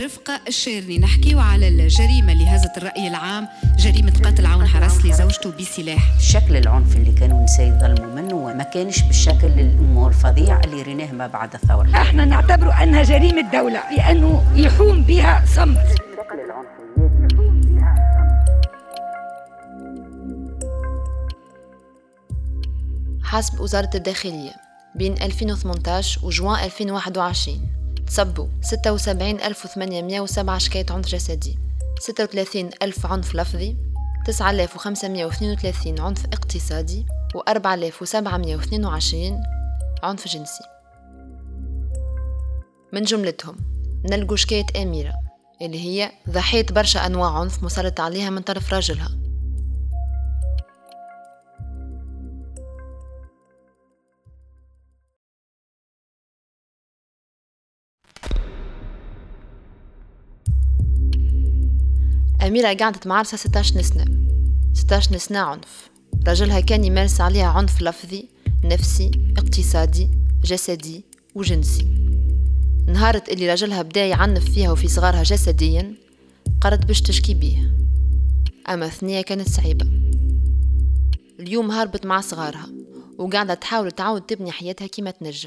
رفقة الشيرني نحكيو على الجريمة اللي هزت الرأي العام، جريمة قتل عون حرس لزوجته بسلاح. شكل العنف اللي كانوا النساء يظلموا منه وما كانش بالشكل الفظيع اللي ريناه ما بعد الثورة. احنا نعتبره أنها جريمة دولة لأنه يحوم بها صمت. شكل العنف حسب وزارة الداخلية بين 2018 وجوان 2021 تصبوا 76,807 شكاية عنف جسدي، 36,000 عنف لفظي، 9,532 عنف اقتصادي و4,722 عنف جنسي. من جملتهم نلقوا شكاية أميرة اللي هي ضحية برشا أنواع عنف مسلط عليها من طرف راجلها. أميرة قعدت مع عرسها 16 سنة عنف. رجلها كان يمارس عليها عنف لفظي، نفسي، اقتصادي، جسدي وجنسي. نهارت اللي رجلها بدا يعنف فيها وفي صغارها جسديا قررت باش تشكي بيه، أما الثنية كانت صعيبة. اليوم هربت مع صغارها وقاعدة تحاول تعود تبني حياتها كما تنجم.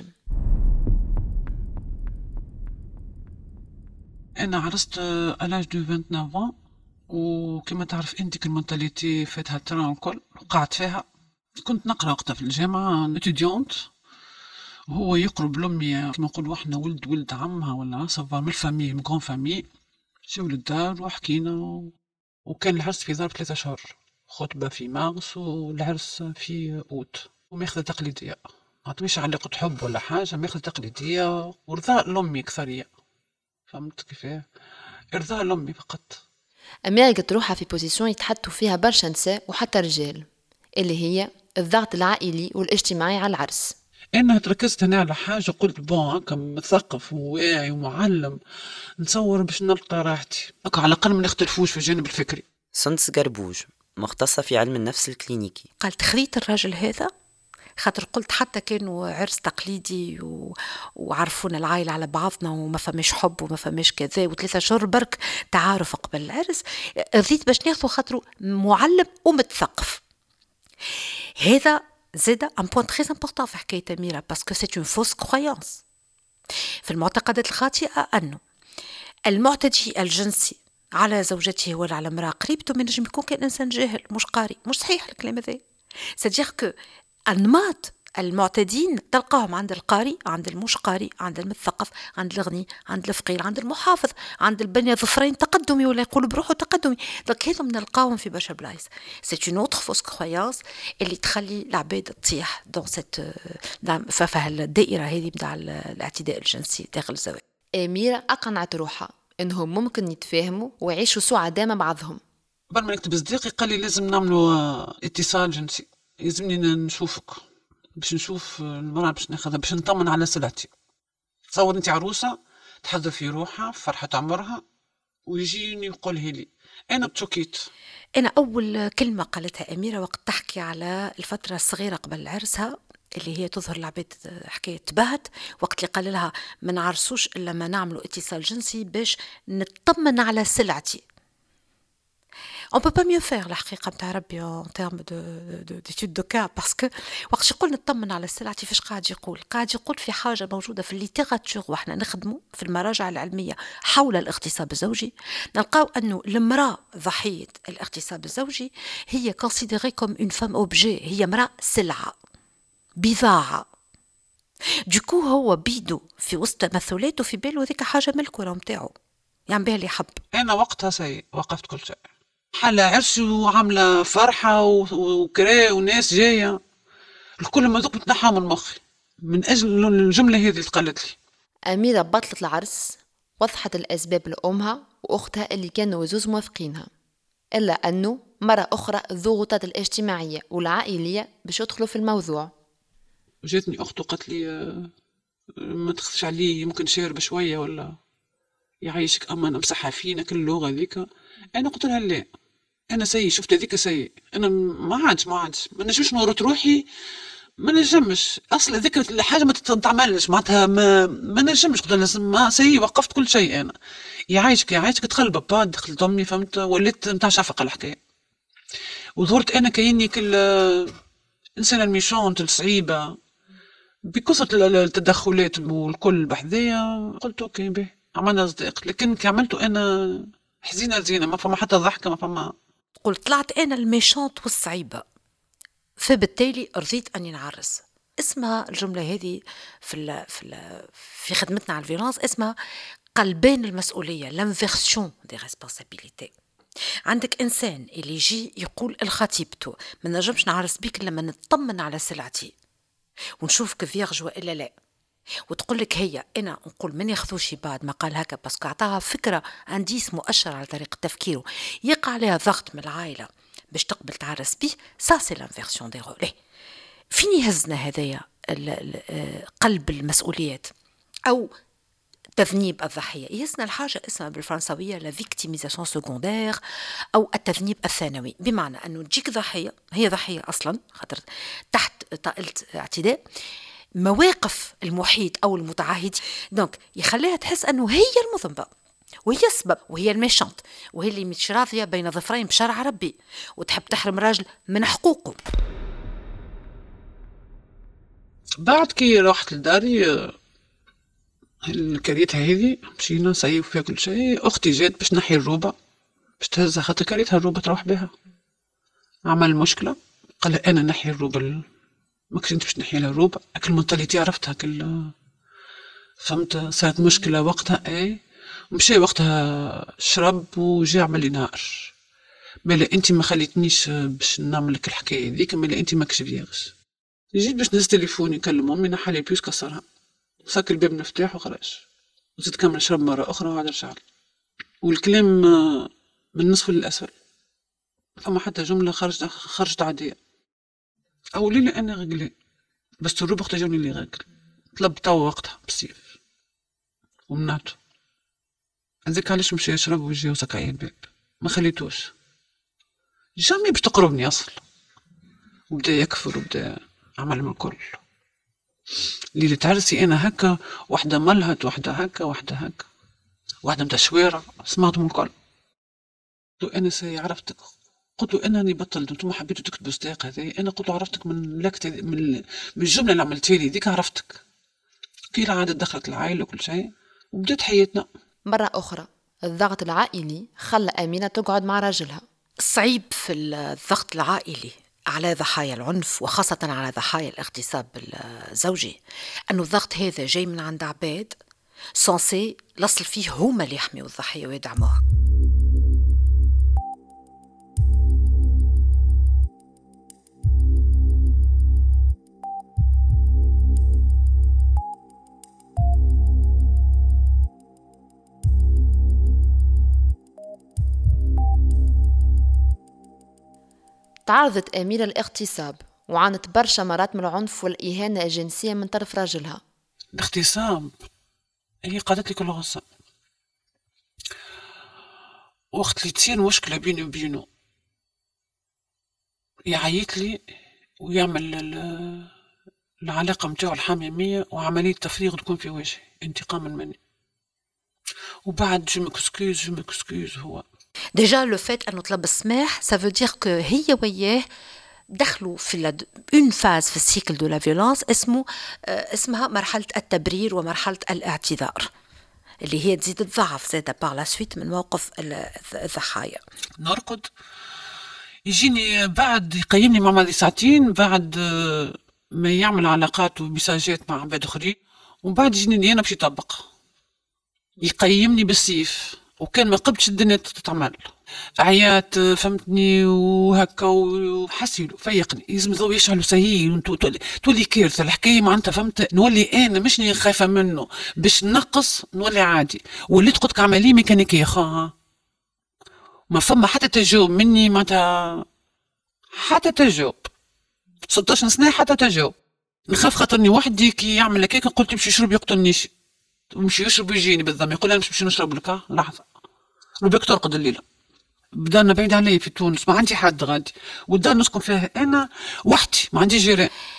أنا عرست ألاج دو 29 وكما تعرف أنت المنتاليتي فاتها التران الكل وقعت فيها. كنت نقرأ وقتها في الجامعة اتوديونت وهو يقرب لأمي كما نقولوا احنا ولد عمها ولا صفار من الفامي من كون فامي. جاو للدار وحكينا وكان العرس في ظرف 3 أشهر، خطبة في مارس والعرس في أوت، وماخذة تقليدية مش علاقة حب ولا حاجة، ماخذة تقليدية ورضاء لأمي كثرية. فهمت كيفاه؟ إرضاء لأمي فقط. أميرة قد روحها في بوزيسيون يتحطوا فيها برشا نساء وحتى رجال، اللي هي الضغط العائلي والاجتماعي على العرس. أنا تركزت هنا على حاجة، قلت بون كمثقف وواعي ومعلم نصور باش نلقى راحتي، على الأقل ما نختلفوش في الجانب الفكري. سندس قربوج مختصة في علم النفس الكلينيكي. قالت خريت الراجل هذا خاطر قلت حتى كانوا عرس تقليدي وعرفونا العائلة على بعضنا وما فماش حب وما فماش كذا و3 أشهر برك تعارف قبل العرس، رضيت باش ناخذ خاطره معلم ومتثقف. هذا زاد ان بوين تري امبورطون في حكاية أميرة باسكو سي اون فوس كرويانس. في المعتقدات الخاطئة أنه المعتدي الجنسي على زوجته ولا على امرأة قريبته من نجم يكون كان إنسان جاهل مش قاري. مش صحيح الكلام هذا. سادير كو أنماط المعتدين تلقاهم عند القاري، عند المش قاري، عند المثقف، عند الغني، عند الفقير، عند المحافظ، عند البني ظفرين تقدمي ولا يقول بروحه تقدمي. دونك هذم نلقاهم في برشا بلايص. سي اون اوتر فوس كرويانس اللي تخلي العباد تطيح دون سيت ففه الدائره هذه نتاع الاعتداء الجنسي داخل الزواج. أميرة أقنعت روحها إنهم ممكن يتفاهموا ويعيشوا سعداء مع بعضهم. قبل ما نكتب صديقي قال لي لازم نعملوا اتصال جنسي، يلزمني نشوفك باش نشوف المرأة باش ناخذها باش نطمن على سلعتي. تصور انت عروسة تحضر في روحها فرحة عمرها ويجيني يقولها لي. انا بتشكيت. انا اول كلمة قالتها أميرة وقت تحكي على الفترة الصغيرة قبل عرسها اللي هي تظهر العباد حكاية تبهت، وقت اللي قال لها ما نعرسوش الا ما نعملوا اتصال جنسي باش نطمن على سلعتي. On peut pas mieux faire الحقيقة متاع ربي en termes d'étude de cas parce que وقت يقول نطمن على السلعة فاش قاعد يقول في حاجة موجودة في الليتيراتور واحنا نخدمه في المراجع العلمية حول الاغتصاب الزوجي، نلقاو أنه المرأة ضحية الاغتصاب الزوجي هي considérée comme une femme objet، هي مرأة سلعة بضاعة. دوكو هو بيدو في وسط تمثلاته في باله ذيك حاجة ملكه متاعه يعني بها اللي حب. أنا وقتها وقفت كل شيء، حالة عرس وعاملة فرحة وكراء وناس جاية، الكل ما ذوق بتنحى من مخي من أجل الجملة هذه اللي قالت لي. أميرة بطلت العرس وضحت الأسباب لأمها وأختها اللي كانوا وزوز موافقينها، إلا أنه مرة أخرى الضغوطات الاجتماعية والعائلية باش يدخلوا في الموضوع. جاتني أخته قالت لي ما تخفش عليه ممكن شارب شوية ولا يعيشك، أما أنا مسحها فينا كل اللغة ذيك. أنا قلت لها لا، أنا سيء، شفت هذيك سيء، أنا ما عادش ما نجمش نورط روحي ما نجمش اصلا ذيك الحاجه ما تتعملش معناتها ما نجمش قلت لازم ما سي وقفت كل شيء انا يعيشك تخلب با دخلت امي فهمت وليت نتاع شفقه الحكايه وظهرت انا كاني كل انسانه الميشونت الصعيبه بكثره التدخلات والكل بحذايا قلت اوكي به عملنا صديق لكن كي عملته انا حزينه زينه ما فما حتى ضحكه ما فما قلت طلعت انا الميشونت والصعيبه فبالتالي رضيت اني نعرس. اسمها الجمله هذه في خدمتنا على الفيولانس اسمها قلبان المسؤوليه لانفيرسيون دي ريسبونسابيلتي. عندك انسان اللي يجي يقول لخطيبته ما نجمش نعرس بيك لما نطمن على سلعتي ونشوفك فيرج والا لا، وتقول لك هي انا نقول ما ناخذوش بعد ما قال هكا باسكو عطاها فكره انديس مؤشر على طريقه تفكيره يقع عليها ضغط من العائله باش تقبل تعرس بيه. سا سي لانفيرسيون دي رولي. فين يهزنا هذايا قلب المسؤوليات او تذنيب الضحيه؟ يهزنا الحاجه اسمها بالفرنسويه لا فيكتيميزاسيون سكوندير او التذنيب الثانوي، بمعنى انه تجيك ضحيه هي ضحيه اصلا خاطر تحت طائله اعتداء مواقف المحيط او المتعهد دونك يخليها تحس انه هي المذنبه وهي السبب وهي الميشانت وهي اللي مش راضيه بين ظفرين بشرع ربي وتحب تحرم راجل من حقوقه. بعد كي رحت لداري كريتها هذه مشينا نصيب فيها كل شيء. اختي جات باش نحي الروبه باش تهزها خاطر كريتها الروبه تروح بها. عمل مشكله قال انا نحي الروبه ما كنت باش نحي لها الروبه اكل منطليتي عرفتها كل فهمت. صارت مشكله وقتها اي مشي وقتها شرب وجا عمل لي نهار مالا انت ما خليتنيش باش نعمل لك الحكايه ذيك مالا انت ماكش فيغش. جيت باش نهز تليفوني نكلم امي نحى لي بيوس كسرها ساك الباب مفتاح وخرج وزيد كمل شرب مره اخرى وعاد رجع والكلام من النصف للاسفل فما حتى جمله خرجت عاديه. او ليلة انا غقلي بس تروب اختي جوني اللي غاقل طلب توا وقتها بالسيف ومنعته. هذاك علاش مشي يشرب ويجي وسكعي الباب ما خليتوش جامي باش تقربني اصلا وبدا يكفر وبدا عمل من الكل. ليلة عرسي انا هكا واحدة ملهت واحدة هكا واحدة متشويرة سمعت من الكل. قلت انا سي عرفتك قلت له انني بطلت انتم حبيتوا تكتبوا ستاق هذه انا قلت عرفتك من لكت من الجمله اللي عملتها لي ديك عرفتك. كي العاده دخلت العائله وكل شيء وبدات حياتنا. مرة أخرى الضغط العائلي خلى أمينة تقعد مع راجلها. الصعيب في الضغط العائلي على ضحايا العنف وخاصة على ضحايا الاغتصاب الزوجي أنه الضغط هذا جاي من عند عباد سانسي الأصل فيه هما اللي يحميوا الضحية ويدعموها. تعرضت أميرة الاغتصاب وعانت برشا مرات من العنف والإهانة الجنسية من طرف راجلها. الاغتصاب هي قالت لي كل غصة وقت اللي تصير مشكلة بيني وبينه يعيط لي ويعمل العلاقة متاعه الحميمية وعملية تفريغ تكون في وجهي انتقاما مني وبعد جو مكسكوز هو ديجا لو فات انه طلب السماح سا فو دير كو هي وياه دخلوا في اون فاز في السيكل دو لا فيولونس اسمها مرحله التبرير ومرحله الاعتذار اللي هي تزيد تضعف زاده باغ لا سويت من موقف الضحايا. نرقد يجيني بعد يقيمني مع ماضي ساعتين بعد ما يعمل علاقات ومساجات مع عباد اخرين وبعد يجيني انا باش يطبق يقيمني بالسيف وكان ما قبتش الدنيا تتعمل عيات فهمتني وهكا وحسيلو فيقني يلزم ضو يشعلوا سهيل تولي كارثه الحكايه معناتها فهمت نولي انا مش خايفه منه باش نقص نولي عادي وليت قلت عمليه ميكانيكيه خا ما فما حتى تجاوب مني معناتها حتى تجاوب 16 سنه حتى تجاوب نخاف خاطرني وحدي كي يعمل هكاك قلت يمشي يشرب يقتلنيش ومشي يشرب ويجيني بالضم يقول انا مش باش نشرب لك لحظه ربك ترقد الليله بدانا بعيد علي في تونس ما عندي حد غادي والدار نسكن فيها انا وحدي ما عندي جيران.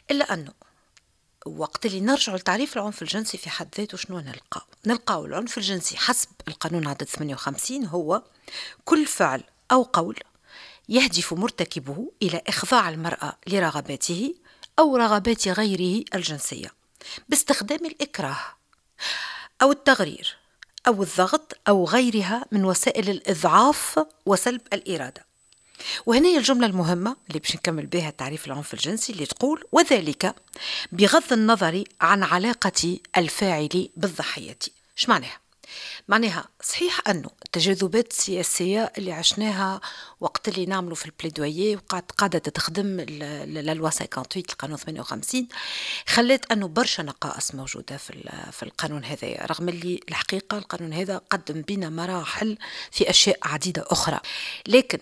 إلا أنه وقت اللي نرجع لتعريف العنف الجنسي في حد ذاته شنو نلقاو العنف الجنسي حسب القانون عدد 58 هو كل فعل أو قول يهدف مرتكبه إلى إخضاع المرأة لرغباته أو رغبات غيره الجنسية باستخدام الإكراه أو التغرير أو الضغط أو غيرها من وسائل الإضعاف وسلب الإرادة. وهنا هي الجملة المهمة اللي باش نكمل بها تعريف العنف الجنسي اللي تقول وذلك بغض النظر عن علاقة الفاعل بالضحية. ايش معناها؟ معناها صحيح أنه التجاذبات السياسية اللي عشناها وقت اللي نعملوا في البليدوية وقعدت قاعدة تخدم للوا 58 القانون 58 خلت أنه برشا نقائص موجودة في القانون هذا، رغم اللي الحقيقة القانون هذا قدم بنا مراحل في أشياء عديدة أخرى. لكن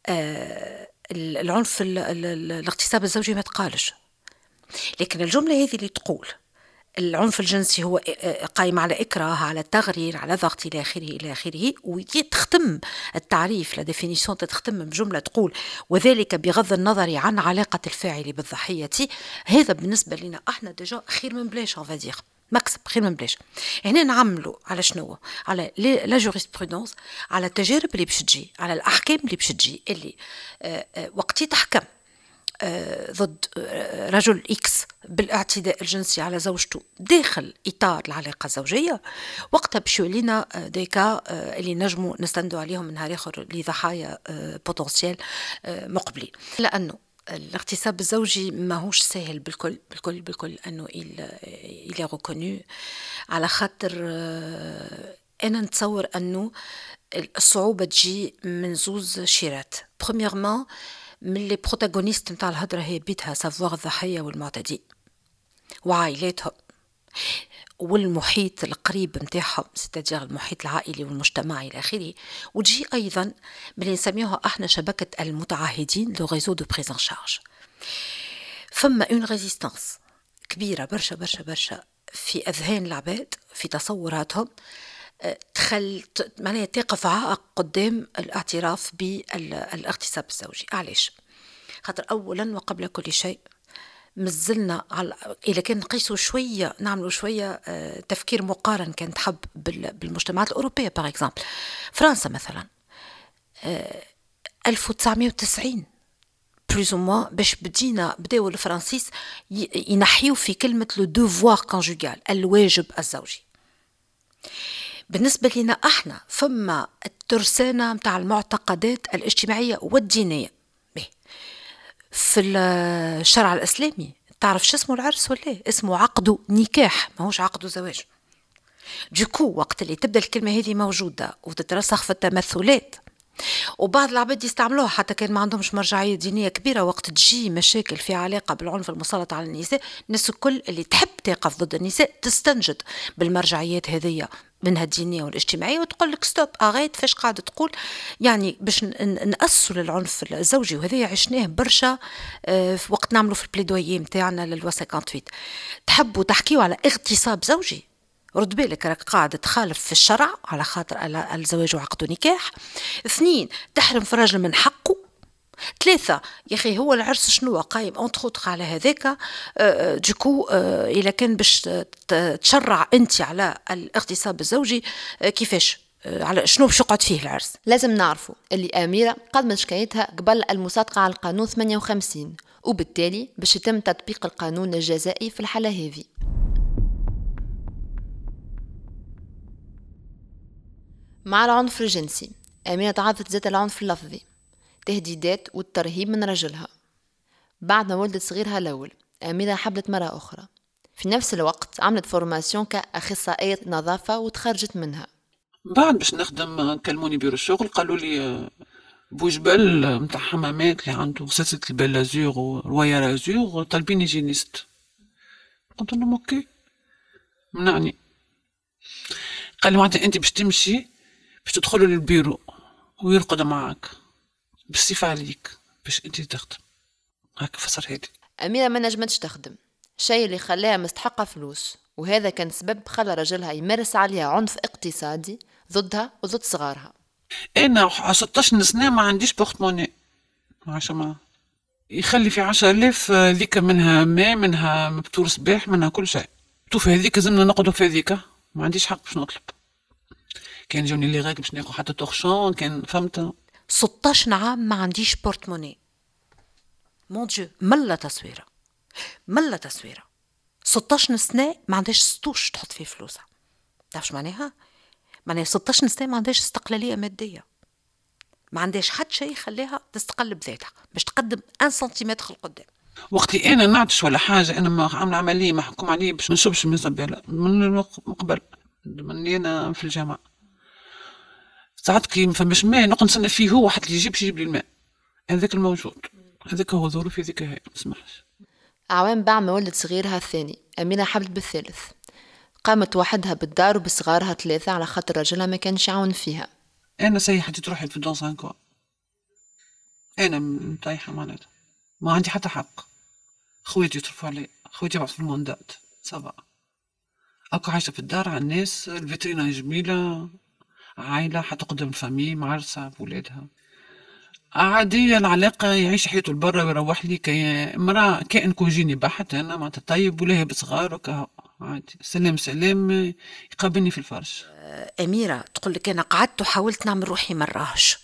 العنف الاغتصاب الزوجي ما تقالش، لكن الجملة هذه اللي تقول العنف الجنسي هو قائم على إكراه، على تغرير، على ضغط إلى آخره إلى آخره، وتختم التعريف لا ديفينيسيون تختم بجملة تقول وذلك بغض النظر عن علاقة الفاعل بالضحية. هذا بالنسبة لنا احنا ديجا خير من بلاش on va dire مكسب، خير من بلاش. هنا نعملوا على شنو؟ على لا جوريسبرودونس، على التجارب اللي باش تجي، على الأحكام اللي باش تجي، اللي وقت تحكم ضد رجل إكس بالاعتداء الجنسي على زوجته داخل إطار العلاقة الزوجية، وقتها بشو لنا ديكا اللي نجموا نستندوا عليهم من نهار آخر لضحايا بوتنسيال مقبلين. لأنه الاغتصاب الزوجي ما هوش سهل بالكل أنه il est reconnu، على خاطر أنا نتصور أنه الصعوبة تجي من زوز شيرات. premièrement من اللي بروتاغونيست نتاع الهضرة هي بيتها سافوار الضحية والمعتدي وعائلاتهم والمحيط القريب نتاعهم، ستادير المحيط العائلي والمجتمعي إلى آخره، وتجي أيضا من اللي نسميوها احنا شبكة المتعهدين لو ريزو دو بريز ان شارج. فما اون ريزيستانس كبيرة برشا برشا برشا في أذهان العباد، في تصوراتهم، معناها تقف عائق قدام الاعتراف بالاغتصاب الزوجي. علاش؟ خاطر أولا وقبل كل شيء مازلنا إذا كان نقيسوا شوية نعملوا شوية تفكير مقارن كان تحب بالمجتمعات الأوروبية باغ اكزامبل. فرنسا مثلا 1990 بلوز او موان باش بداو الفرنسيس ينحيوا في كلمة لو دوفوار كونجوغال، الواجب الزوجي. بالنسبة لنا احنا فما الترسانة متاع المعتقدات الاجتماعية والدينية. في الشرع الإسلامي تعرف شو اسمه العرس ولا اسمه عقد نكاح، ما هوش عقد زواج. دوكو وقت اللي تبدأ الكلمة هذه موجودة وتترسخ في التمثلات وبعض العباد يستعملوها حتى كان ما عندهمش مرجعية دينية كبيرة، وقت تجي مشاكل في علاقة بالعنف المسلط على النساء، الناس الكل اللي تحب تقف ضد النساء تستنجد بالمرجعيات هذه منها الدينية والاجتماعية وتقول لك ستوب أغيت فاش قاعدة تقول، يعني باش نأسوا للعنف الزوجي. وهذا عشناه برشا في وقت نعملوا في البليدوية متاعنا للوا 58. تحبوا تحكيوا على اغتصاب زوجي، رد بالك راك قاعدة تخالف في الشرع على خاطر الزواج وعقد نكاح. 2 تحرم في الرجل من حقه. 3 يا أخي هو العرس شنو قايم أنتخوتخ على هذاك دوكو إذا كان باش تشرع أنت على الاغتصاب الزوجي كيفاش على شنو باش يقعد فيه العرس. لازم نعرفوا اللي أميرة قدمت شكايتها قبل المصادقة على القانون 58، وبالتالي باش يتم تطبيق القانون الجزائي في الحالة هذه. مع العنف الجنسي أميرة تعرضت ذات العنف اللفظي، تهديدات والترهيب من رجلها. بعد ما ولدت صغيرها الأول أميرة حبلت مرة أخرى، في نفس الوقت عملت فورماسيون كأخصائية نظافة وتخرجت منها. بعد باش نخدم كلموني بيرو الشغل قالوا لي بوجبل متاع حمامات اللي عنده سلسلة البلازور ورواية لازور طالبين جينيست. قلت لهم اوكي منعني. قال لي معناتها انت باش تمشي باش تدخلوا للبيرو ويرقد معك بالصفة عليك باش انت تخدم. هكا فسر هادي. أميرة ما نجمتش تخدم، شيء اللي خلاها مستحقة فلوس، وهذا كان سبب خلى رجلها يمارس عليها عنف اقتصادي ضدها وضد صغارها. انا 16 سنة ما عنديش بورتموني عشان ما يخلي في 10,000 ذيك منها ماء، منها مبتور صباح، منها كل شيء. في هذيك زمنا نقعدوا في هذيك، ما عنديش حق باش نطلب. كان جوني اللي غاك باش ناخذ حتى تورشون، كان فهمت. 16 عام ما عنديش بورتموني. مون ديو، ملا تصويره 16 سنه ما عندهاش ستوش تحط فيه فلوسها. تعرف شو معناها 16 سنه ما عندهاش استقلاليه ماديه، ما عندهاش حتى شيء يخليها تستقل بذاتها باش تقدم 1 سنتيمتر لقدام. وقتي انا نعطش ولا حاجه، انا ما عامله عمليه محكوم عليه باش ما نشربش من الزباله من قبل مني انا في الجامعه. ساعات كي ما فماش ماء نقعد نستنى فيه هو حتى يجيب لي الماء، هذاك الموجود، هذاك هو ظروفي، هذيك هي ما تسمحش. أعوام بعد ما ولدت صغيرها الثاني أميرة حبلت بالثالث، قامت وحدها بالدار وبصغارها 3 على خاطر رجلها ما كانش يعاون فيها. انا سيحت تروحي في دون سانكوا، انا مطيحه معناتها ما عندي حتى حق. خواتي يصرفوا علي، خواتي يبعثوا في الموندات صبا، اكو عايشه في الدار على الناس، الفيترينا جميله، عائله حتى قدام الفامي معرسه بولادها عادية. العلاقة يعيش حياته لبرا ويروح لي مرأة كائن كوجيني بحت، أنا معناتها طيب ولاهي بصغار وكا عادي، سلام يقابلني في الفرش. أميرة تقول لك أنا قعدت وحاولت نعمل روحي مراهش.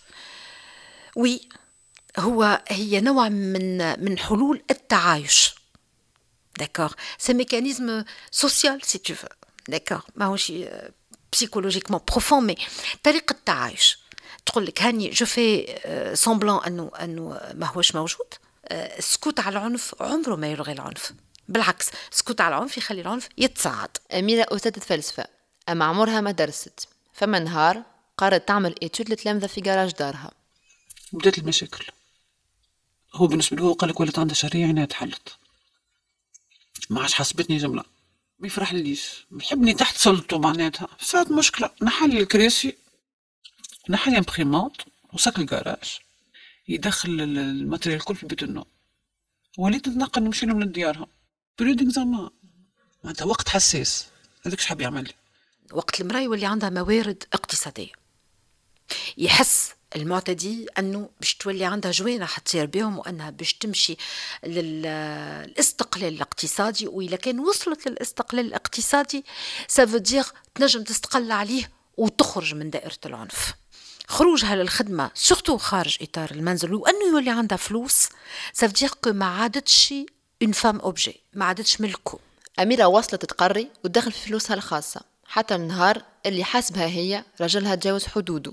هي نوع من حلول التعايش. داكور، سي ميكانيزم سوسيال سي تو فو، داكور، ماهوش بسيكولوجيكمون بروفون، مي طريقة التعايش. تقول لك هاني جو في سامبلون انه ما هوش موجود. السكوت على العنف عمره ما يلغي العنف، بالعكس السكوت على العنف يخلي العنف يتصاعد. أميرة أستاذة فلسفة، أما عمرها ما درست، فما نهار قررت تعمل إيتود لتلامذة في جراج دارها. بدات المشاكل. هو بالنسبة له قال لك ولات عندها شهرية عينها تحلت، ما عادش حسبتني جملة، ما يفرح ليش، يحبني تحت سلطه معناتها. صارت مشكلة، نحل الكراسي، نحل امبريمونت وساك الجراج، يدخل الماتريال الكل في بيت النوم. وليت نتنقل نمشي لهم لديارهم بريود اكزامان، معناتها وقت حساس. هذاك شحب يعمل لي؟ وقت المرأة يولي عندها موارد اقتصادية، يحس المعتدي أنه باش تولي عندها جوانة حتصير بهم، وأنها باش تمشي للاستقلال الاقتصادي. وإذا كان وصلت للاستقلال الاقتصادي سافودير تنجم تستقل عليه وتخرج من دائرة العنف. خروجها للخدمة سورتو خارج إطار المنزل وأنه يولي عندها فلوس، سافودير كو ما عادتش اون فام اوبجي، ما عادتش ملكه. أميرة وصلت تقري وتدخل في فلوسها الخاصة، حتى النهار اللي حاسبها هي رجلها تجاوز حدوده.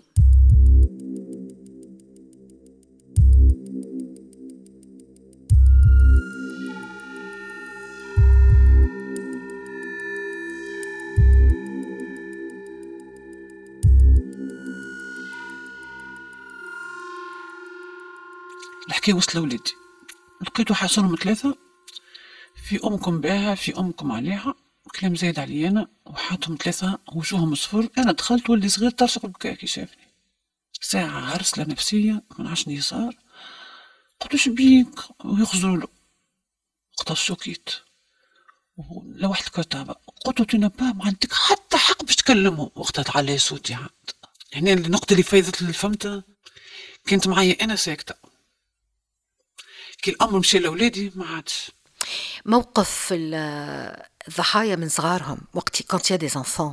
الحكاية وصل لوليدي، لقيتو حاصلهم 3، في أمكم باها، في أمكم عليها، كلام زايد علي أنا، وحاتهم 3 وجوههم صفر. أنا دخلت ولي صغير ترشق بكاء كي شافني، ساعة هرسلة نفسية من عشني صار. قلتو شبيك ويخزرولو، وقتها شوكيت لوحت الكتابة. قلتو تنبا ما عندك حتى حق باش تكلمهم. وقتها تعلي صوتي عاد، يعني النقطة اللي فايدت الفهمتها كانت معايا أنا ساكتة. كي الأمر مشي لأولادي ما عادش. موقف الضحايا من صغارهم وقت كانت يا دي انفون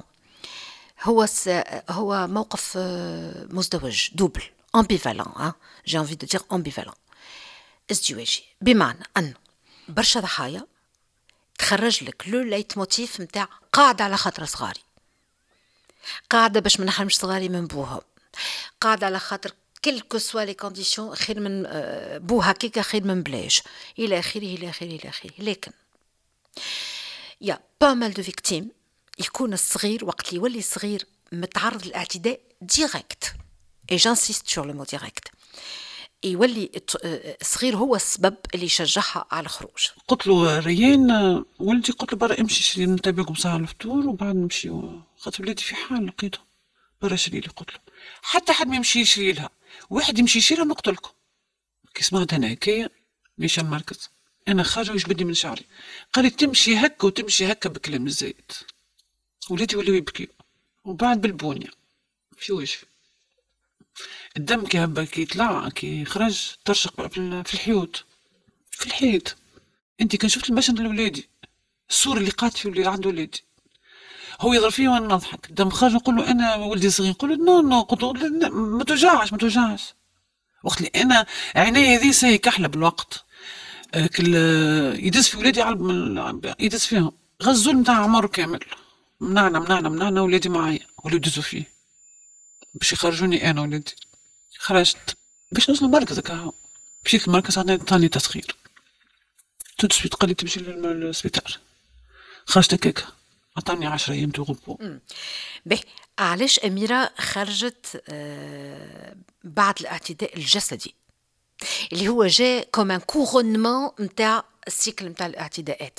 هو موقف مزدوج، دوبل، امبيفالون، جي انفي دو دير امبيفالون، ازدواجي. بمعنى أن برشا ضحايا تخرج لك لو ليت موتيف متاع قاعدة على خاطر صغاري، قاعدة باش ما نحرمش صغاري من بوهم، قاعدة على خاطر كلكو سوا لي كونديسيون، خير من بو هكاكا خير من بلاش، الى اخره الى اخره الى اخره. لكن يا با مال دو فيكتيم يكون الصغير وقت اللي يولي صغير متعرض للاعتداء ديريكت، اي جانسيست سور لو مو ديريكت، يولي الصغير هو السبب اللي يشجعها على الخروج. قلت له ريان ولدي، قلت له برا امشي شري نتابعكم ساعة الفطور وبعد نمشي، خاطر ولادي في حال لقيتهم برا شري لي. قلت له حتى حد ما يمشي يشري لها، واحد يمشي يشيلها نقتلكم. كي سمعت انا هكايا ماشي مركز، انا خارجه ويش بدي من شعري. قال لي تمشي هكا وتمشي هكا بكلام الزايد. ولادي ولاو يبكيو، وبعد بالبونيا في وجهي الدم كي هبا كي يطلع كي يخرج ترشق في الحيوط. في الحيط. انت كان شفت المشهد لولادي، الصورة اللي قعدت في اللي عند ولادي، هو يضرب فيه وانا نضحك، دم خرج نقول له انا ولدي صغير، نقول له نو قلت له ما توجعش ما توجعش. وقت اللي انا عيني هذه ساهي كحله بالوقت، كل يدز في ولادي يدز فيهم غزول نتاع عمر كامل، منعنا ولادي معايا ولا يدزوا فيه باش يخرجوني انا ولادي. خرجت باش نوصل المركز هكا، مشيت المركز عطاني تسخير تو سويت، قال لي تمشي للسبيطار. خرجت هكاك عطاني 10 أيام تغبو. به علاش أميرة خرجت بعد الاعتداء الجسدي اللي هو جاء كوم كورونمون نتاع السيكل نتاع الاعتداءات؟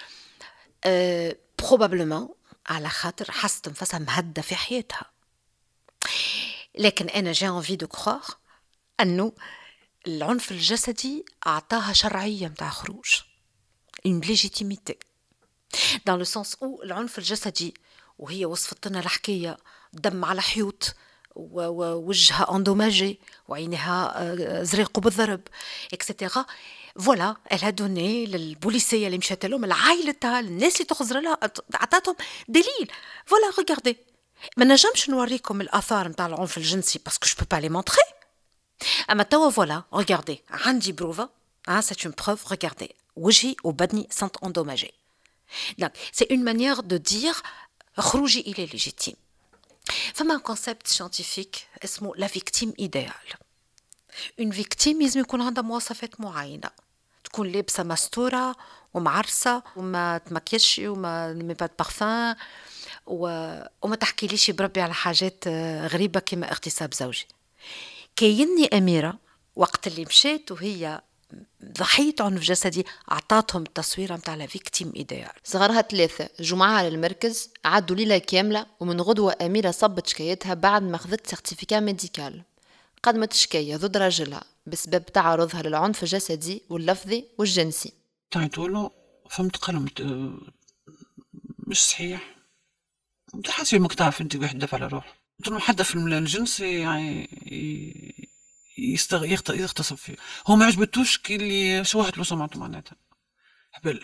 بروبابلمون على خاطر حست نفسها مهدة في حياتها. لكن أنا جي انفي دو كروغ أنه العنف الجسدي أعطاها شرعية متاع خروج، une légitimité dans le sens où العنف الجسدي، وهي وصفت لنا الحكاية دم على حيوط ووجهها اندوماجي وعينها زريقوا بالضرب اكسترا. فوالا elle a donné للبوليسية اللي مشات لهم، العائلتها، الناس اللي تخزر لها، عطاتهم دليل. فوالا ريغاردي، ما نجمش نوريكم الآثار نتاع العنف الجنسي باسكو جو بو با لي مونطري، اما توا فوالا ريغاردي عندي بروفا، c'est une preuve، ريغاردي وجهي وبدني sont endommagés. Donc c'est une manière de dire خروجي il est légitime. فما concept scientifique اسمه la victime idéale. une victime لازم يكون عندها مواصفات معينة، تكون لابسة مستورة ومعرسة وما تمكيش وما ميبات بارفان وما تحكي ليش بربي على حاجات غريبة كما اغتصاب زوجي. كيني أميرة وقت اللي مشيت وهي ضحية عنف جسدي أعطاتهم التصوير متاع لا فيكتيم إيديال. صغارها 3 جمعها للمركز، عدوا ليلة كاملة، ومن غدوة أميرة صبت شكايتها بعد ما أخذت سيرتيفيكا ميديكال. قدمت شكاية ضد راجلها بسبب تعرضها للعنف الجسدي واللفظي والجنسي. تعيطوله فهمت قال مش صحيح، حاسة ما تعرف انت واحد دافع على روح، قلت له حدا في الجنس يغتصب فيه، هو ما عجبتوش كي اللي شوهت له سمعته معناتها هبل.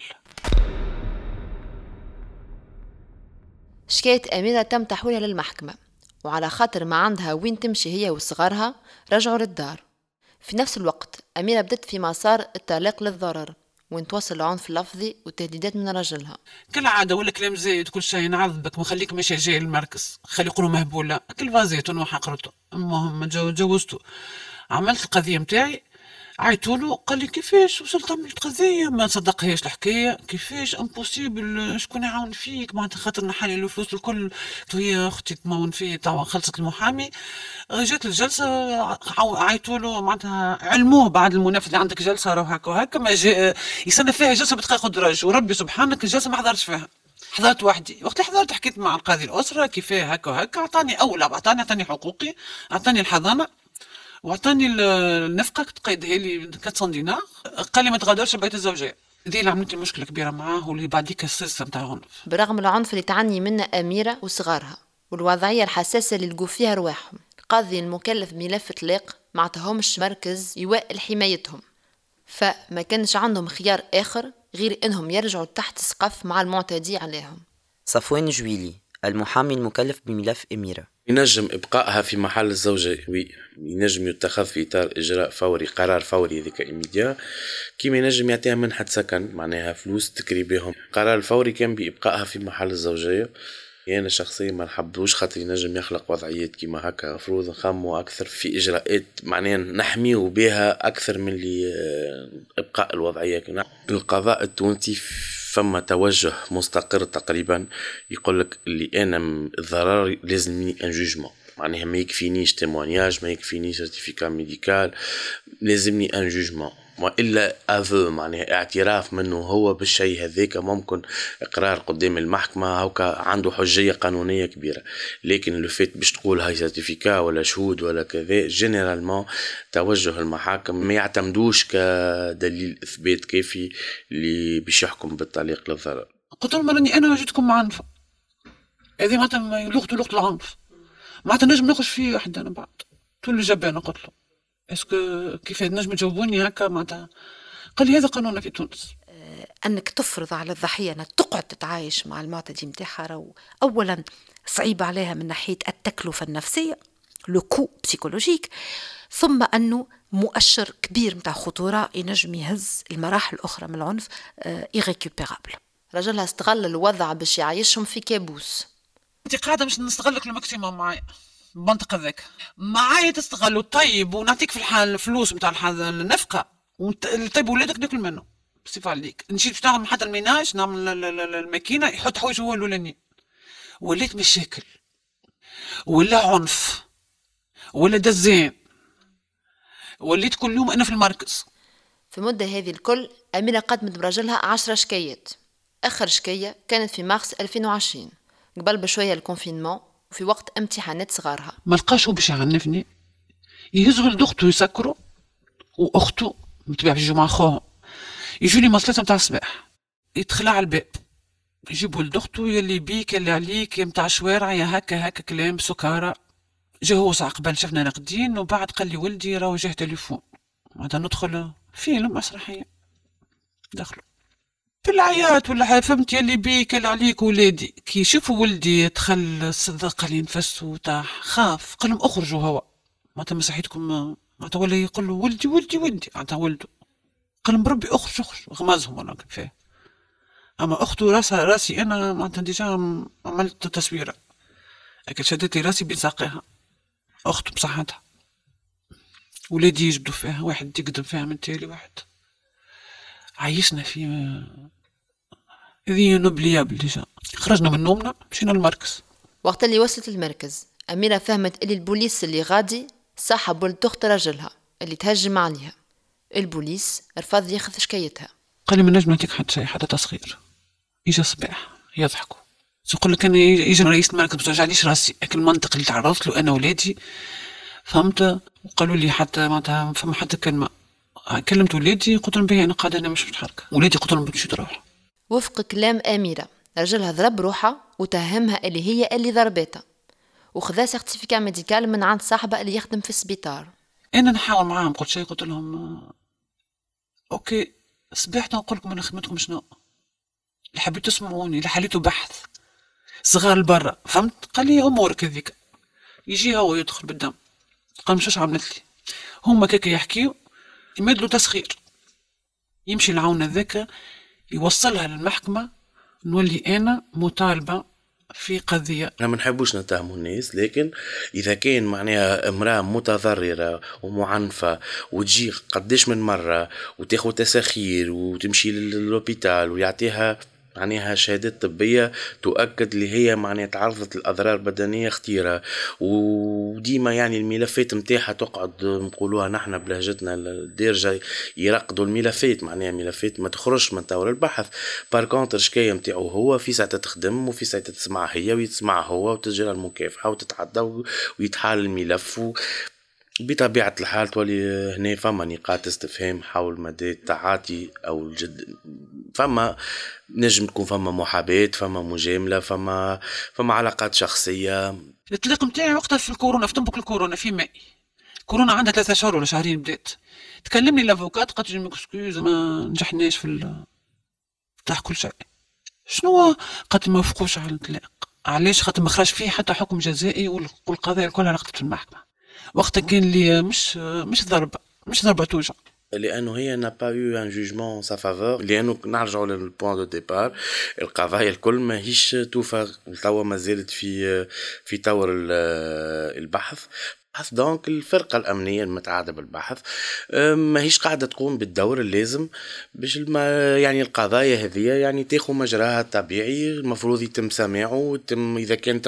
شكاية أميرة تم تحويلها للمحكمة، وعلى خاطر ما عندها وين تمشي هي وصغارها رجعوا للدار. في نفس الوقت أميرة بدت في مسار الطلاق للضرر، وين توصل العنف اللفظي وتهديدات من رجلها. كالعادة ولا كلام زايد، كل شيء نعذبك وخليك ماشي جاي المركز، خلي يقولوا مهبولة، كل فازيت وحقرته. المهم جوزته، عملت القضية متاعي، عيطوله قال لي كيفاش وصلت عملت قضية، ما صدقهاش الحكاية، كيفاش امبوسيبل شكون يعاون فيك معناتها خاطر نحالي الفلوس الكل، وهي اختي تمون فيه توا خلصت المحامي. جات الجلسة عيطوله معناتها علموه بعد المنافذ اللي عندك جلسة راهو هكا وهكا، ما يستنى فيها جلسة بدقائق درج، وربي سبحانك الجلسة ما حضرتش فيها، حضرت وحدي. وقت اللي حضرت حكيت مع القاضي الأسرة كيفاه هكا وهكا، أعطاني حقوقي، أعطاني الحضانة وعطاني النفقة تقيدها لي 400 دينار، قال لي ما تغادرش بيت الزوجية. ذي اللي عملت مشكلة كبيرة معاه، واللي بعديك السلسلة متاع العنف. برغم العنف اللي تعاني منه أميرة وصغارها والوضعية الحساسة اللي لقوا فيها رواحهم، القاضي المكلف بملف طلاق ما عطاهمش مركز يوائل حمايتهم، فما كانش عندهم خيار آخر غير إنهم يرجعوا تحت سقف مع المعتدي عليهم. صفوان جويلي، المحامي المكلف بملف أميرة. ينجم إبقائها في محل الزوجة، ينجم يتخذ في إطار إجراء فوري، قرار فوري ذيك إيميديا، كيما ينجم يعطيها منحة سكن معناها فلوس تكري بهم. القرار الفوري كان بإبقائها في محل الزوجية. أنا شخصيا ما نحبوش خاطر ينجم يخلق وضعيات كيما هكا، مفروض نخمو أكثر في إجراءات معناها نحميو بها أكثر من اللي إبقاء الوضعية. القضاء التونسي فما توجه مستقر تقريبا يقولك اللي أنا الضرر لازمني ان جوجمون، معناها ما يكفينيش تيمونياج، ما يكفينيش سيرتيفيكا ميديكال، لازمني ان جوجمون، وإلا أفو معناها اعتراف منه هو بالشيء هذاك، ممكن إقرار قدام المحكمة هوكا عنده حجية قانونية كبيرة. لكن لو فيت باش تقول هاي سيرتيفيكا ولا شهود ولا كذا، جينيرالمون توجه المحاكم ما يعتمدوش كدليل إثبات كافي اللي باش يحكم بالطليق للضرر. قلت لهم راني أنا وجدتكم معنفة، هذه معناتها لغة العنف، معناتها نجم ناخذ فيه واحد أنا بعد تولي جبانة. قلت له اسكو كيف نجم تجاوبوني هكا؟ معناتها قال لي هذا قانوننا في تونس. أنك تفرض على الضحية أنها تقعد تتعايش مع المعتدي متاعها، أولا صعيب عليها من ناحية التكلفة النفسية، لو كو بسيكولوجيك، ثم أنه مؤشر كبير متاع خطورة ينجم يهز المراحل الأخرى من العنف irrécupérable. رجلها استغل الوضع باش يعيشهم في كابوس. انت قاعده مش نستغلك الماكسيموم معايا المنطق هذاك، معايا تستغلوا طيب ونعطيك في الحال الفلوس نتاع النفقه طيب ولادك ناكل منه بصفه عليك. نمشي باش نعمل حتى الميناج، نعمل الماكينه يحط حوايج هو الاولاني. وليت مشاكل ولا عنف ولا دزان، وليت كل يوم انا في المركز. في المدة هذه الكل أميرة قدمت برجلها 10 شكايات. آخر شكاية كانت في مارس 2020 قبل بشوية الكونفينمون وفي وقت امتحانات صغارها. ما لقاش هو باش يعنفني، يهز ولد اخته يسكروا واخته متبع في الجمعة خوهم، يجوا لي مصلات نتاع الصباح يدخل على الباب يجيب ولد اخته يلي بيك يلي عليك يا متاع شوارع يا هكا كلام سكارى. جا هو ساعة قبل شفنا ناقدين وبعد قال لي ولدي راهو جاه تليفون، بعد ندخل فيلم مسرحية دخلوا بالعياط ولا فهمت يلي بيك يلي عليك ولادي. كي يشوفوا ولدي دخل صدق لي نفس وطاح خاف، قال لهم اخرجوا هو معناتها مسحيتكم، معناتها ولا يقول له ولدي معناتها ولده، قال لهم بربي اخرج غمازهم ولا كيفاه. اما اخته راسي انا معناتها ديجا عملت تصويره لكن شدت لي راسي بين ساقيها اخته بصحتها. ولادي يجبدوا فيها، واحد يقدم فيها من تالي واحد. عايشنا في هذه نوبليابل ديجا. خرجنا من نومنا مشينا المركز. وقت اللي وصلت المركز أميرة فهمت اللي البوليس اللي غادي صاحب ولد أخت رجلها اللي تهجم عليها. البوليس رفض ياخذ شكايتها، قال لي ما نجم نعطيك حتى شيء حتى تصغير. يجي الصباح يضحكوا يقول لك انا يجي رئيس المركز ما توجعليش راسي، لكن المنطق اللي تعرضت له انا ولادي فهمت. وقالوا لي حتى معناتها فما حتى كلمه. كلمت ولادي قلت لهم بهي انا قاعده انا مش متحركه، ولادي قلت لهم باش تروح. وفق كلام أميرة رجلها ضرب روحها وتهمها اللي هي اللي ضربتها وخذا سيرتيفيكا ميديكال من عند صاحبه اللي يخدم في السبيطار. انا نحاول معاهم قلت شيء، قلت لهم اوكي صبحت نقول لكم انا خدمتكم شنو اللي حبيتوا تسمعوني اللي حليتوا بحث صغار البرة فهمت. قال لي امورك هذيك. يجي هو يدخل بالدم، قال مش عملت لي هما كيك يحكيوا يمدلوا تسخير، يمشي العون ذاك يوصلها للمحكمة نولي أنا مطالبة في قضية. احنا ما نحبوش نتهموا الناس، لكن اذا كان معناها امراه متضرره ومعنفه وتجي قداش من مره وتاخذ تسخير وتمشي للوبيتال ويعطيها معناها شهادات طبية تؤكد اللي هي معناها تعرضت لأضرار بدنية خطيرة، وديما يعني الملفات متاعها تقعد نقولوها نحن بلهجتنا الدارجة يرقدوا الملفات، معناها ملفات ما تخرجش من طور البحث. باركونتر شكاية متاعه هو في ساعة تخدم وفي ساعة تسمع هي ويتسمع هو وتجرى المكافحة وتتعدى ويتحال الملف بطبيعة الحال تولي هنا فما نقاط استفهام حول مدى التعاطي أو الجد. فما نجم تكون فما محاباة، فما مجاملة، فما علاقات شخصية. الطليق متاعي وقتها في الكورونا، في تنبك الكورونا في ماء كورونا عندها 3 شهور ولا شهرين بدات. تكلمني الافوكات قالت لي مكسكوز ما نجحناش في تاع كل شيء. شنو قالت ما وافقوش على الطلاق. علاش؟ خاطر ما خرج فيه حتى حكم جزائي والقضايا كلها رقدت في المحكمة. وقتها كان لي مش ضربة توجع، لأنه هي n'a pas eu un jugement en sa faveur، لأنه نرجعوا للبوان دو ديبار. القضايا الكل ماهيش توفى توا ما زالت في طور البحث. دونك الفرقة الأمنية المتعاقدة بالبحث ماهيش قاعدة تقوم بالدور اللازم باش يعني القضايا هذه يعني تاخذ مجراها الطبيعي. المفروض يتم سماعه، إذا كان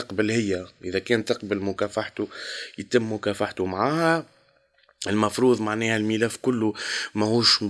تقبل مكافحته يتم مكافحته معها. المفروض معناها الملف كله ماهوش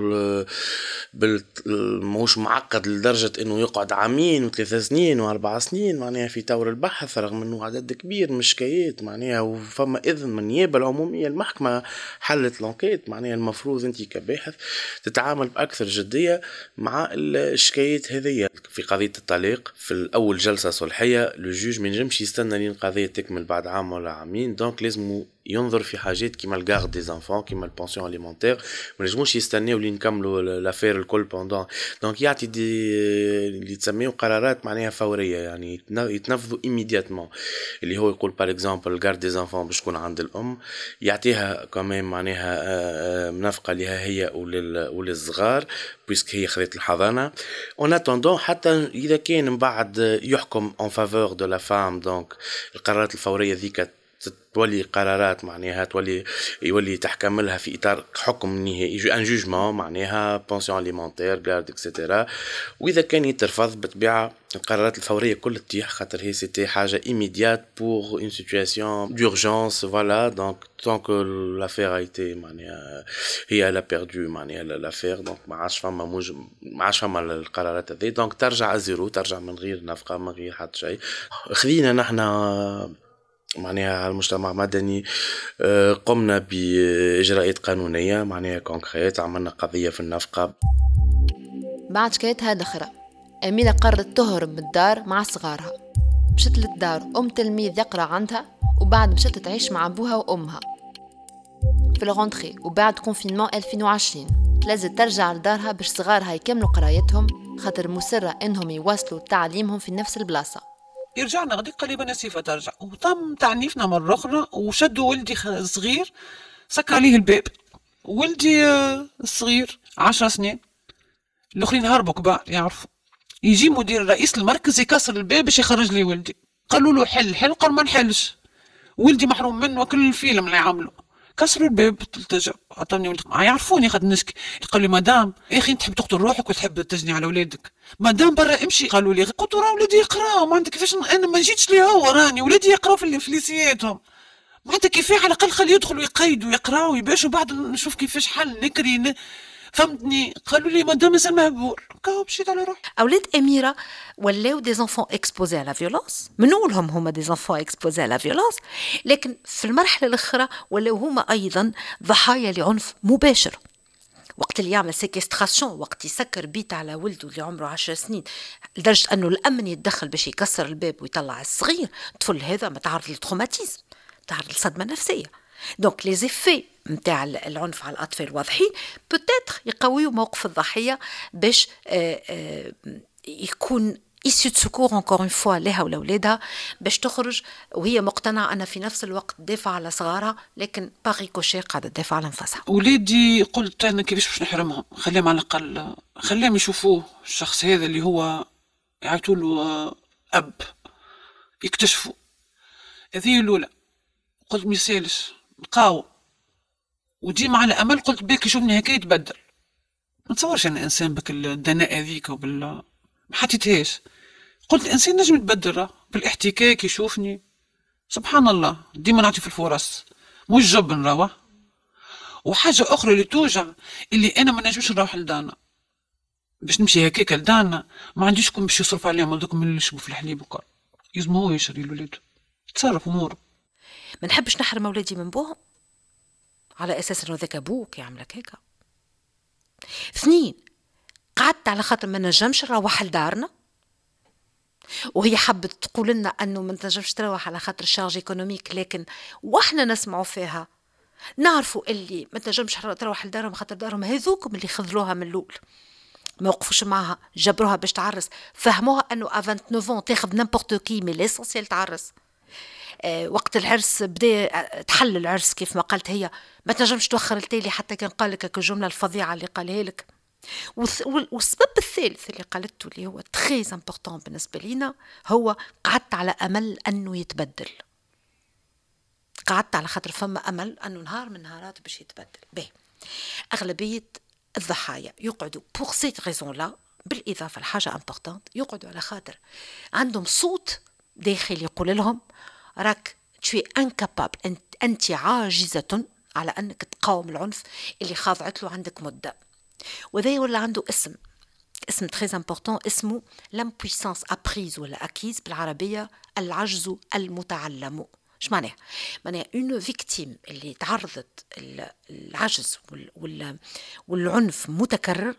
ماهوش معقد لدرجة انه يقعد 2 و3 سنين و4 سنين معناها في طور البحث، رغم انه عدد كبير من الشكايات معناها وفما اذن من النيابة العمومية. المحكمة حلت لونكيت، معناها المفروض انت كباحث تتعامل باكثر جدية مع الشكايات هذه. في قضية الطلاق في الاول جلسة صلحية للجوج ما ينجمش يستنى لين القضية تكمل بعد عام ولا عامين، دونك لازم ينظر في حاجات كيما القاع garde des enfants كيما البونسيون اليمونتير ما نجموش يستناو لين نكملوا لافير الكل بوندون دونك يعطي دي اللي تسميو قرارات معناها فوريه يعني يتنفذوا ايميدياتمون اللي هو يقول بار اكزومبل الجارد دي زانفون باش تكون عند الام يعطيها كمان معناها منافقه لها هي وللصغار بويسك هي خذت الحضانه اون اتوندون حتى اذا كان من بعد يحكم اون فافور دو لا فام دونك القرارات الفوريه ذيك تولي قرارات معناها يولي تحكم لها في اطار حكم نهائي ان جوجمون معناها بونسيون اليمونتير غارد اكسيتيرا واذا كان يترفض بالطبيعه القرارات الفوريه كل تطيح خاطر هي سيتي حاجه ايميديات بور اون سيتوياسيون دورجونس فوالا دونك طونك لافير ايتي معناها هي لا بيردو معناها لافير دونك ما عادش فما القرارات هذه دونك ترجع زيرو ترجع من غير نفقه من غير حتى شيء خذينا نحن معناها على المجتمع المدني قمنا بإجراءات قانونية معناها كونكريت عملنا قضية في النفقة. بعد شكايتها الأخرى أميرة قررت تهرب من الدار مع صغارها مشت للدار تلميذ يقرأ عندها وبعد مشت تعيش مع أبوها وأمها في الغونتري وبعد كونفينمون 2020 تلازم ترجع لدارها باش صغارها يكملوا قرايتهم خاطر مصرة إنهم يواصلوا تعليمهم في نفس البلاصة. رجعنا غادي قال لي بنا سيفا ترجع وتم تعنيفنا مرة أخرى وشدوا ولدي صغير سكر عليه الباب ولدي الصغير 10 سنين الأخرين هربوا كبار يعرفوا يجي مدير رئيس المركز يكسر الباب باش يخرج لي ولدي قالوا له حل قال ما نحلش ولدي محروم منه كل الفيلم اللي عمله كسروا الباب تلتجأ عطوني ولدي يعرفوني خد نشكي قال لي مدام يا اخي تحب تقتل روحك وتحب تجني على ولادك مدام برا امشي قالوا لي قلت راه ولادي يقراو ما عندك كيفاش انا ما جيتش ليه هو راني ولادي يقراو في ليسياتهم ما عندك كيفاش على الاقل خلي يدخلوا يقيدوا يقراو يباشوا بعد نشوف كيفاش حل نكري فهمتني قالوا لي مدام مازال مهبول كاو مشيت على روحي. اولاد اميره ولاو دي زانفون اكسبوزي على فيولونس منولهم هما دي زانفون اكسبوزي على فيولونس لكن في المرحله الاخرى ولاو هما ايضا ضحايا لعنف مباشر وقت اللي يعمل سيكستراسيون وقت يسكر بيت على ولده اللي عمره 10 سنين لدرجه انه الامن يتدخل باش يكسر الباب ويطلع الصغير الطفل هذا متعرض للتروماتيزم متعرض للصدمه نفسيه دونك لي زيفي نتاع العنف على الاطفال واضحين بوتيتر يقويوا موقف الضحيه باش يكون إيسيو دو سكور انكور اون فوا لها ولاولادها باش تخرج وهي مقتنعه ان في نفس الوقت تدافع على صغارها لكن باغي كوشي قاعده تدافع على نفسها. ولادي قلت انا كيفاش باش نحرمهم خليهم على الاقل خليهم يشوفوه الشخص هذا اللي هو يعيطوا له اب يكتشفوا هذه الاولى قلت ما يسالش نقاوم وديما على امل قلت بيك يشوفني هكا يتبدل ما تصورش انا انسان بك الدناء هذيك ما حطيتهاش قلت الانسان نجم يتبدل بالاحتكاك يشوفني سبحان الله ديما نعطي في الفرص مش جبن راه وحاجه اخرى اللي توجع اللي انا ما نجمش نروح لدانا باش نمشي هكاك لدانا ما عنديش كون باش يصرف عليهم هذوك من اللي يشربوا في الحليب وكل يزم هو يشري لولادو تصرف اموره ما نحبش نحرم اولادي من بوهم على اساس انه ذاك ابوك يعملك هيك. 2 قعدت على خاطر ما نجمش نروح لدارنا وهي حبت تقول لنا انه ما نجمش تروح على خاطر الشارج ايكونوميك لكن واحنا نسمعوا فيها نعرفوا اللي ما تنجمش تروح لدارهم خاطر دارهم هذوكم اللي خذلوها من الاول ما وقفوش معها جبروها باش تعرس فهموها انه ا 29 تاخذ نيمبورت كي مي ليسونسيال تعرس. وقت العرس بدا تحل العرس كيف ما قالت هي ما تنجمش توخر التالي حتى كان قال لك الجمله الفظيعه اللي قالها لك. والسبب الثالث اللي قالته اللي هو تري امبورطون بالنسبه لينا هو قعدت على امل انه يتبدل قعدت على خاطر فما امل انه نهار من نهارات باش يتبدل. به اغلبيه الضحايا يقعدوا بور سيت ريزون لا بالاضافه لحاجه امبورطونت يقعدوا على خاطر عندهم صوت داخلي يقول لهم راك تشوي انكابابل انت عاجزه على انك تقاوم العنف اللي خاضعت له عندك مده. وذا ولا عنده اسم تري امبورطون اسمه لامبويسانس ابريز ولا اكيز بالعربيه العجز المتعلم. ايش معناه؟ معناه اون فيكتيم اللي تعرضت العجز والعنف متكرر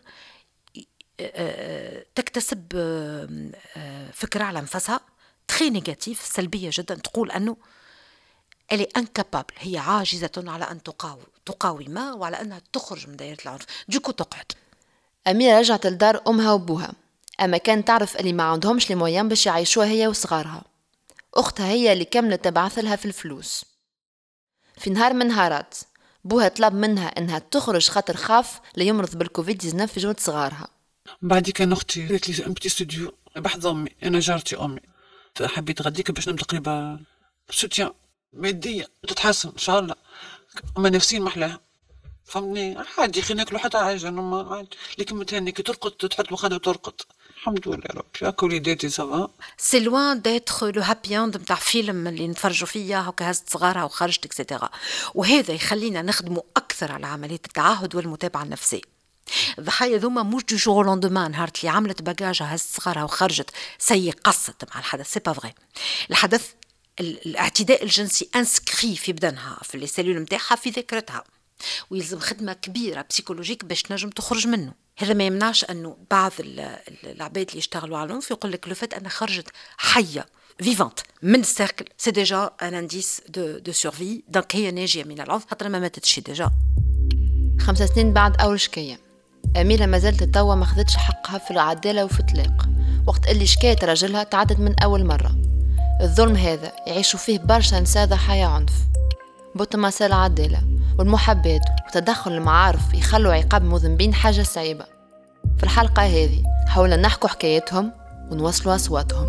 تكتسب فكره على نفسها تري نيجاتيف سلبيه جدا تقول انه اللي انكابابل، هي عاجزة على أن تقاوم وعلى أنها تخرج من دائرة العنف، دوكو تقعد. أميرة رجعت لدار أمها وأبوها، أما كانت تعرف اللي ما عندهمش لي مويان باش يعيشوها هي وصغارها. أختها هي اللي كملت تبعث لها في الفلوس. في نهار من نهارات بوها طلب منها انها تخرج خاطر خاف ليمرض بالكوفيد 19 في جوة صغارها. بعد كان اختي قالت لي ان بتي ستوديو بحث امي، انا جارتي امي حبيت غديك باش نبدا قريبه سوتيان ماديه تتحسن ان شاء الله، اما نفسيا محلاها فهمني عادي، خلينا ناكلوا حتى حاجه انا عادي، لكن متهني كي ترقد تحط مخده وترقد الحمد لله يا ربي. هاكا وليداتي سافا سي لوان ديتر لو هابي اند نتاع فيلم اللي نتفرجوا فيه هاكا هزت صغارها وخرجت اكسيتيرا، وهذا يخلينا نخدموا اكثر على عمليه التعهد والمتابعه النفسيه. الضحايا ذوما مش دو جور لوندومان نهار اللي عملت باجاجها هزت صغارها وخرجت سي قصت مع الحدث، سي با فري. الحدث الاعتداء الجنسي انسكري في بدنها في لي سيلول نتاعها في ذاكرتها، ويلزم خدمه كبيره بسيكولوجيك باش نجم تخرج منه. هذا ما يمنعش انه بعض العباد اللي يشتغلوا على العنف يقول لك لو فات انا خرجت حيه فيفانت من السيركل سي ديجا ان انديس دو سورفي، دونك هي ناجيه من العنف خاطر ما ماتتش ديجا. 5 سنين بعد اول شكايه، اميره ما زالت توا ما خذتش حقها في العداله وفي الطلاق، وقت اللي شكايه راجلها تعدد من اول مره. الظلم هذا يعيشوا فيه برشا نساء ضحايا عنف. بوتماسا العداله والمحبات وتدخل المعارف يخلوا عقاب مذنبين حاجة صعيبة. في الحلقة هذه حاولنا نحكوا حكايتهم ونوصلوا أصواتهم.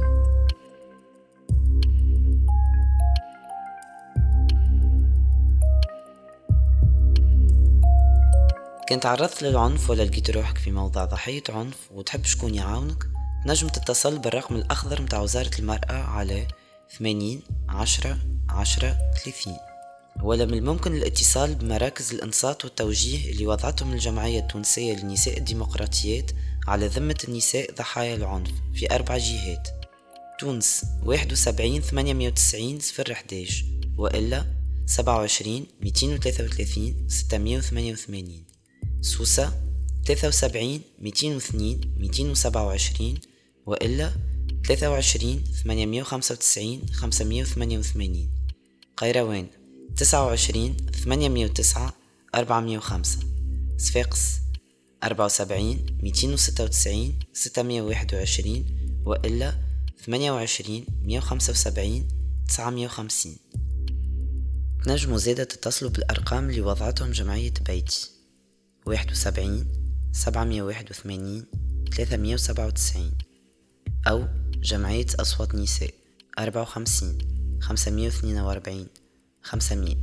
كنت تعرضت للعنف ولا لقيت روحك في موضع ضحية عنف وتحب شكون يعاونك؟ نجم تتصل بالرقم الأخضر متاع وزارة المرأة على 80 10 10 30، ولا من الممكن الاتصال بمراكز الإنصات والتوجيه اللي وضعتهم الجمعية التونسية للنساء الديمقراطيات على ذمة النساء ضحايا العنف في 4 جهات: تونس 71 890 011، وإلا 27 233 688، سوسة 73 202 227، وإلا 23 895 588، قيروان 29 809 405، صفاقس 74 296 621، وإلا 28 175 950. تنجموا زادة تتصلوا بالأرقام اللي وضعتهم جمعية بيتي: 71 781 397، أو جمعية أصوات نساء 54 542 500.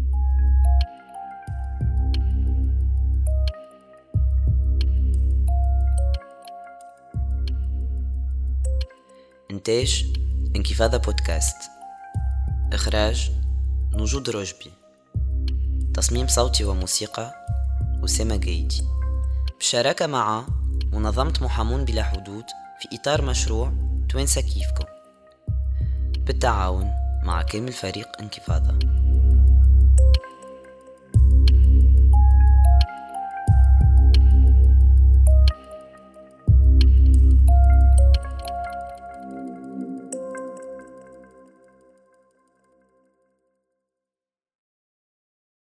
إنتاج انكفاضة بودكاست، إخراج نجود رجبي، تصميم صوتي وموسيقى أسامة جيدي، بشراكة مع منظمة محامون بلا حدود في إطار مشروع توانسة كيفكم، بالتعاون مع كامل فريق انكفاضة.